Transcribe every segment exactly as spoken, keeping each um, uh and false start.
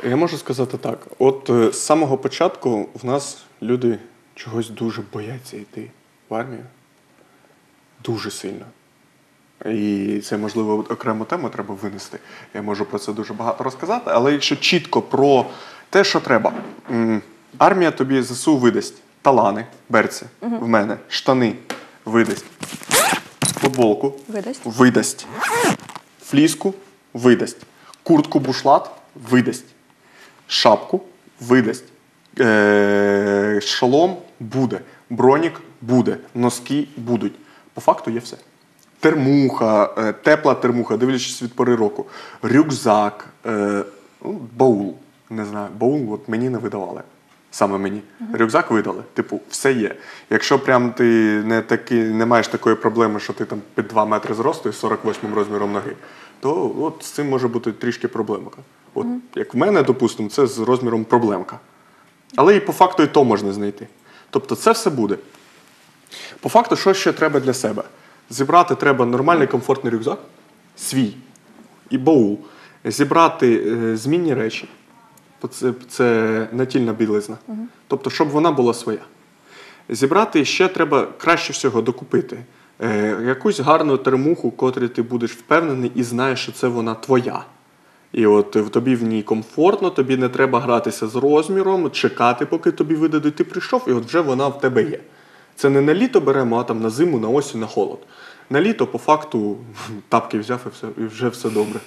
Я можу сказати так. От е, з самого початку в нас люди чогось дуже бояться йти в армію. Дуже сильно. І це, можливо, окрему тему треба винести. Я можу про це дуже багато розказати, але якщо чітко про те, що треба. М, Армія тобі ЗСУ видасть талани, берці, в мене, штани видасть, футболку Видасть. видасть, фліску видасть, куртку бушлат видасть, шапку видасть, е- шолом буде, бронік буде, носки будуть. По факту є все. Термуха, е, тепла термуха, дивлячись від пори року, рюкзак, е, ну, баул, не знаю, баул от мені не видавали. Саме мені. Uh-huh. Рюкзак видали. Типу, все є. Якщо прям ти не, таки, не маєш такої проблеми, що ти там під два метри зросту і сорок восьмим розміром ноги, то от з цим може бути трішки проблемка. От, uh-huh. Як в мене, допустимо, це з розміром проблемка. Але і по факту і то можна знайти. Тобто це все буде. По факту, що ще треба для себе? Зібрати треба нормальний комфортний рюкзак, свій, і баул. Зібрати е, змінні речі. Це, це натільна білизна. Uh-huh. Тобто, щоб вона була своя. Зібрати ще треба краще всього докупити. Е, якусь гарну термуху, котрі ти будеш впевнений і знаєш, що це вона твоя. І от тобі в ній комфортно, тобі не треба гратися з розміром, чекати, поки тобі видадуть. Ти прийшов, і от вже вона в тебе є. Це не на літо беремо, а там на зиму, на осінь, на холод. На літо, по факту, тапки взяв і, все, і вже все добре.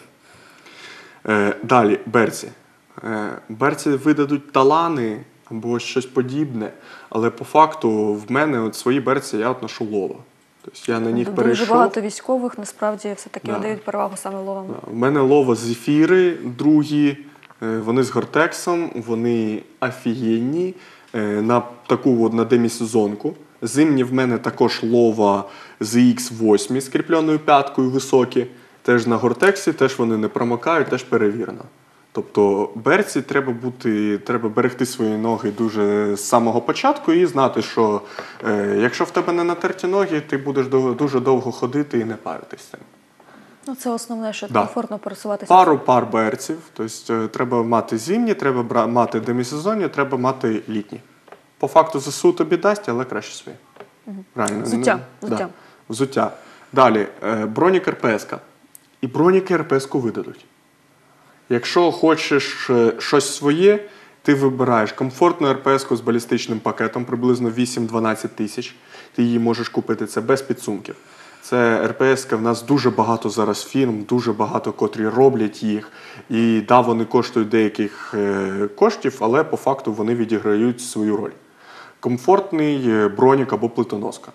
Е, далі, берці. Е, берці видадуть талани або щось подібне, але по факту в мене от свої берці я от ношу лова. Тобто я на них Дуже перейшов. Дуже багато військових насправді все-таки Да. надають перевагу саме ловам. Да. В мене лова зефіри другі, е, вони з гортексом, вони офігенні, е, на таку от, на демісезонку. Зимні в мене також лова з ікс вісім з кріпленою п'яткою високі. Теж на гортексі, теж вони не промокають, теж перевірено. Тобто берці треба бути, треба берегти свої ноги дуже з самого початку і знати, що е, якщо в тебе не натерті ноги, ти будеш дов, дуже довго ходити і не паритись цим. Ну, це основне, що Да. комфортно пересуватися. Пару пар берців, тобто е, треба мати зимні, треба бра, мати демісезонні, треба мати літні. По факту ЗСУ тобі дасть, але краще свої. Угу. Правильно? Взуття. Да. Взуття. Взуття. Далі, е, бронік РПС-ка. І броніки РПС-ку видадуть. Якщо хочеш е, щось своє, ти вибираєш комфортну РПС-ку з балістичним пакетом, приблизно вісім-дванадцять тисяч. Ти її можеш купити, це без підсумків. Це РПС-ка, в нас дуже багато зараз фірм, дуже багато котрі роблять їх. І да, вони коштують деяких е, коштів, але по факту вони відіграють свою роль. Комфортний бронік або плитоноска.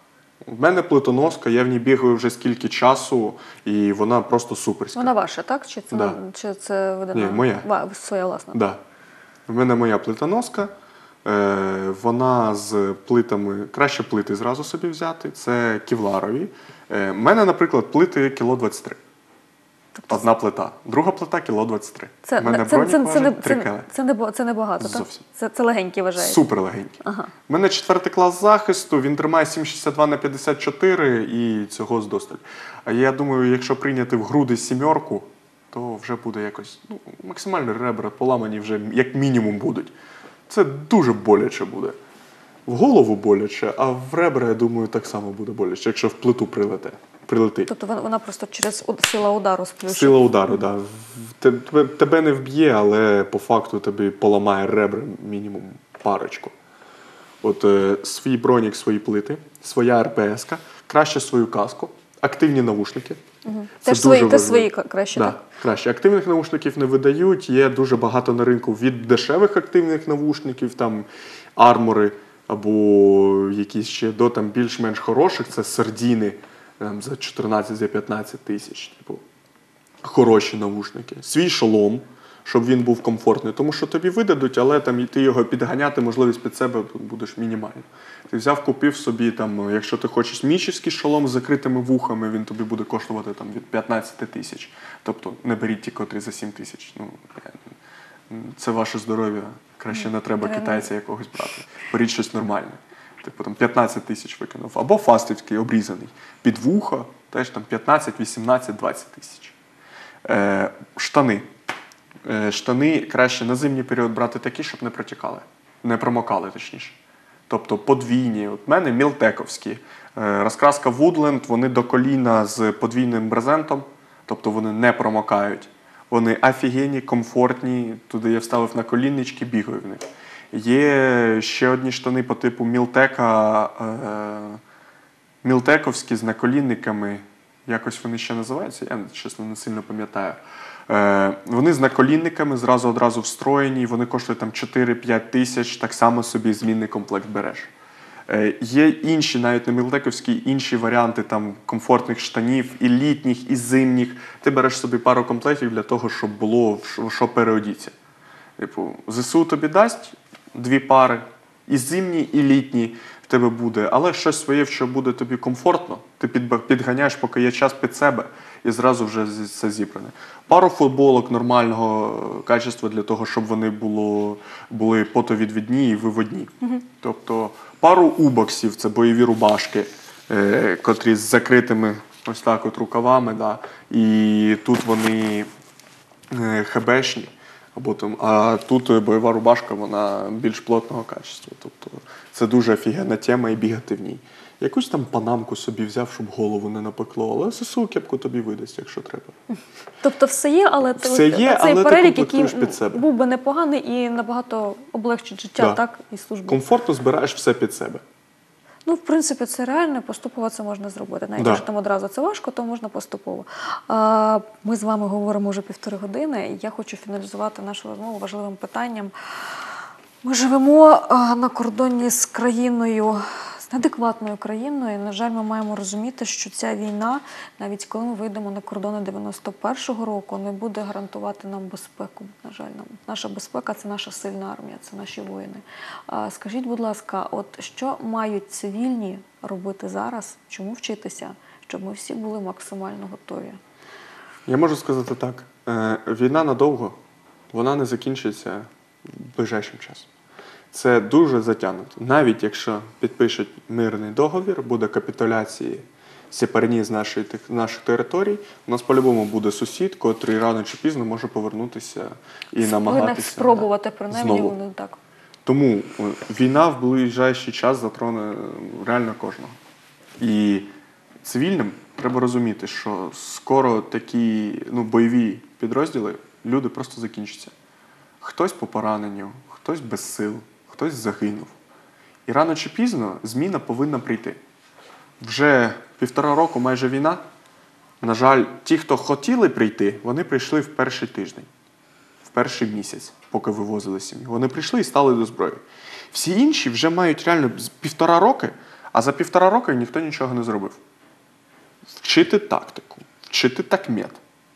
В мене плитоноска, я в ній бігаю вже скільки часу, і вона просто суперська. Вона ваша, так? Чи це, Да. чи це видана? Ні, моя. Ва, своя власна? Да. В мене моя плитоноска, е, вона з плитами, краще плити зразу собі взяти, це кевларові. Е, в мене, наприклад, плити кіло двадцять три. Тобто Одна плита. Друга плита кіло двадцять три. Це, В мене це, бронік це, це, важить не, три це, кіло. це, не, бо- це не багато, так? Зовсім. Це, це легенькі вважається. Супер легенький. Ага. У мене четвертий клас захисту, він тримає сім шістдесят два на п'ятдесят чотири і цього здосталь. А я думаю, якщо прийняти в груди сімерку, то вже буде якось, ну, максимально ребра поламані вже як мінімум будуть. Це дуже боляче буде. В голову боляче, а в ребра, я думаю, так само буде боляче, якщо в плиту прилете. Прилетить. Тобто вона, вона просто через уд- сила удару сплющить. Сила удару, так. Да. Тебе, тебе не вб'є, але по факту тобі поламає ребра мінімум парочку. От е, свій бронік, свої плити, своя РПС-ка, краще свою каску, активні навушники. Угу. Це Теж дуже свої, те важливо. свої ка- краще, Да, так? краще. Активних навушників не видають, є дуже багато на ринку від дешевих активних навушників, там армори або якісь ще до там більш-менш хороших, це сердіни там, за чотирнадцять-п'ятнадцять тисяч. Типу, хороші навушники. Свій шолом, щоб він був комфортний, тому що тобі видадуть, але там і ти його підганяти, можливість під себе будеш мінімально. Ти взяв, купив собі, там, якщо ти хочеш мічівський шолом з закритими вухами, він тобі буде коштувати там, від п'ятнадцять тисяч. Тобто не беріть ті, котрі за сім тисяч. Ну, це ваше здоров'я. Краще не треба китайця якогось брати. Беріть щось нормальне. Типу там п'ятнадцять тисяч викинув. Або фастівський, обрізаний. Під вуха теж там п'ятнадцять, вісімнадцять, двадцять тисяч. Е, штани. Е, Штани краще на зимній період брати такі, щоб не протікали. Не промокали, точніше. Тобто подвійні. От в мене мілтековські. Е, Розкраска Woodland, вони до коліна з подвійним брезентом. Тобто вони не промокають. Вони офігенні, комфортні. Туди я вставив на коліннички, бігаю в них. Є ще одні штани по типу мілтека, е, мілтековські з наколінниками. Якось вони ще називаються, я, чесно, не сильно пам'ятаю. Е, вони з наколінниками, зразу одразу встроєні, вони коштують там чотири-п'ять тисяч, так само собі змінний комплект береш. Е, є інші, навіть не мілтековські, інші варіанти там комфортних штанів, і літніх, і зимніх. Ти береш собі пару комплектів для того, щоб було в що переодіться. Типу, ЗСУ тобі дасть дві пари, і зимні, і літні в тебе буде, але щось своє, що буде тобі комфортно, ти підганяєш, поки є час під себе, і зразу вже все зібране. Пару футболок нормального качества для того, щоб вони було, були потовідвідні і виводні. Mm-hmm. Тобто пару убоксів, це бойові рубашки, е, котрі з закритими ось так от рукавами, да, і тут вони е, хебешні. Або там, а тут бойова рубашка, вона більш плотного качества. Тобто це дуже офігенна тема і бігати в ній. Якусь там панамку собі взяв, щоб голову не напекло, але ЗСУ кепку тобі видасть, якщо треба. Тобто все є, але ти, все є, цей але перелік, ти який під себе. Був би непоганий і набагато облегчить життя, Да. так, і службу. Комфортно збираєш все під себе. Ну, в принципі, це реально, поступово це можна зробити. Навіть Да. якщо там одразу це важко, то можна поступово. А, ми з вами говоримо вже півтори години, і я хочу фіналізувати нашу розмову важливим питанням. Ми живемо а, на кордоні з країною, з неадекватною країною. На жаль, ми маємо розуміти, що ця війна, навіть коли ми вийдемо на кордони дев'яносто першого року, не буде гарантувати нам безпеку. На жаль, нам наша безпека – це наша сильна армія, це наші воїни. А, скажіть, будь ласка, от що мають цивільні робити зараз, чому вчитися, щоб ми всі були максимально готові? Я можу сказати так. Е, війна надовго, вона не закінчиться ближайшим часом. Це дуже затягнуто. Навіть якщо підпишуть мирний договір, буде капітуляції сепарні з нашої, наших територій, у нас по-любому буде сусід, котрий рано чи пізно може повернутися і намагатися. Спробувати, принаймні, знову. вони так. Тому війна в ближайший час затроне реально кожного. І цивільним треба розуміти, що скоро такі ну, бойові підрозділи, люди просто закінчаться. Хтось по пораненню, хтось без сил, хтось загинув. І рано чи пізно зміна повинна прийти. Вже півтора року майже війна. На жаль, ті, хто хотіли прийти, вони прийшли в перший тиждень, в перший місяць, поки вивозили сім'ю. Вони прийшли і стали до зброї. Всі інші вже мають реально півтора роки, а за півтора року ніхто нічого не зробив. Вчити тактику, вчити такмет,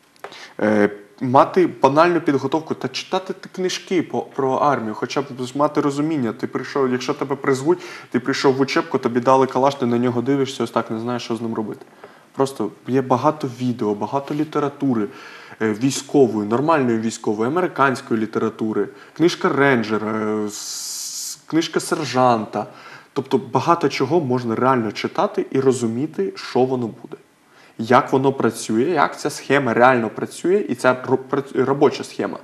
е, мати банальну підготовку та читати книжки по, про армію, хоча б мати розуміння. Ти прийшов, якщо тебе призвуть, ти прийшов в учебку, тобі дали калаш, ти на нього дивишся, ось так не знаєш, що з ним робити. Просто є багато відео, багато літератури е, військової, нормальної військової, американської літератури, книжка рейнджера, с, книжка сержанта. Тобто багато чого можна реально читати і розуміти, що воно буде. Як воно працює, як ця схема реально працює, і ця робоча схема.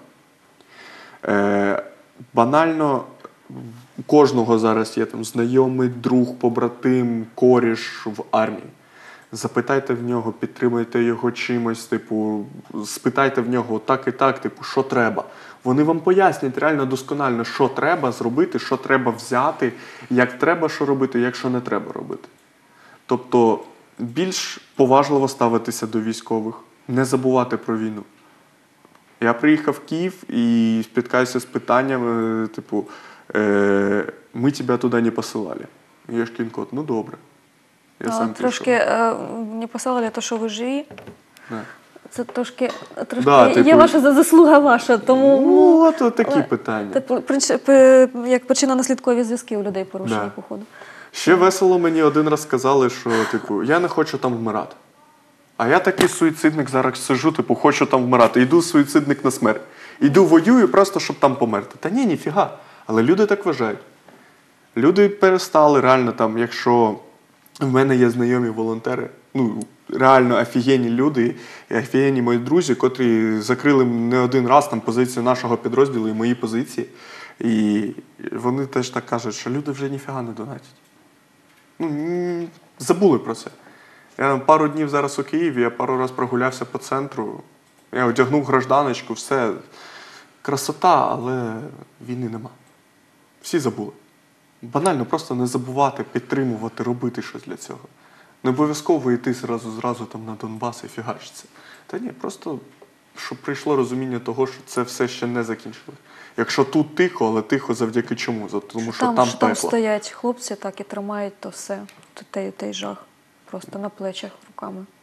Е, банально, у кожного зараз є там знайомий, друг, побратим, коріш в армії. Запитайте в нього, підтримайте його чимось, типу, спитайте в нього так і так, типу, що треба. Вони вам пояснять реально досконально, що треба зробити, що треба взяти, як треба що робити, як що не треба робити. Тобто, більш поважливо ставитися до військових, не забувати про війну. Я приїхав в Київ і спіткаюся з питанням, типу, е, ми тебе туди не посилали. Я ж кінкот, ну добре. Я а, сам трошки е, не посилали те, що ви живі. Не. Це трошки, трошки Да, є типу, ваша заслуга ваша, тому... Ну, от, от такі але, питання. Типу, як причинно-наслідкові зв'язки у людей порушені, Да. походу. Ще весело мені один раз сказали, що, типу, я не хочу там вмирати. А я такий суїцидник зараз сижу, типу, хочу там вмирати. Йду суїцидник на смерть. Йду воюю просто, щоб там померти. Та ні, ніфіга. Але люди так вважають. Люди перестали реально там, якщо в мене є знайомі волонтери, ну, реально офігенні люди, і офігенні мої друзі, котрі закрили не один раз там позицію нашого підрозділу і мої позиції. І вони теж так кажуть, що люди вже ніфіга не донатять. Ну, м, забули про це. Я пару днів зараз у Києві, я пару разів прогулявся по центру, я одягнув гражданочку, все. Красота, але війни нема. Всі забули. Банально просто не забувати, підтримувати, робити щось для цього. Не обов'язково йти зразу, зразу там на Донбас і фігачиться. Та ні, просто щоб прийшло розуміння того, що це все ще не закінчили. Якщо тут тихо, але тихо завдяки чому? За- Тому що там, там що там пекло. стоять хлопці, так і тримають то все, той, той жах. Просто на плечах руками.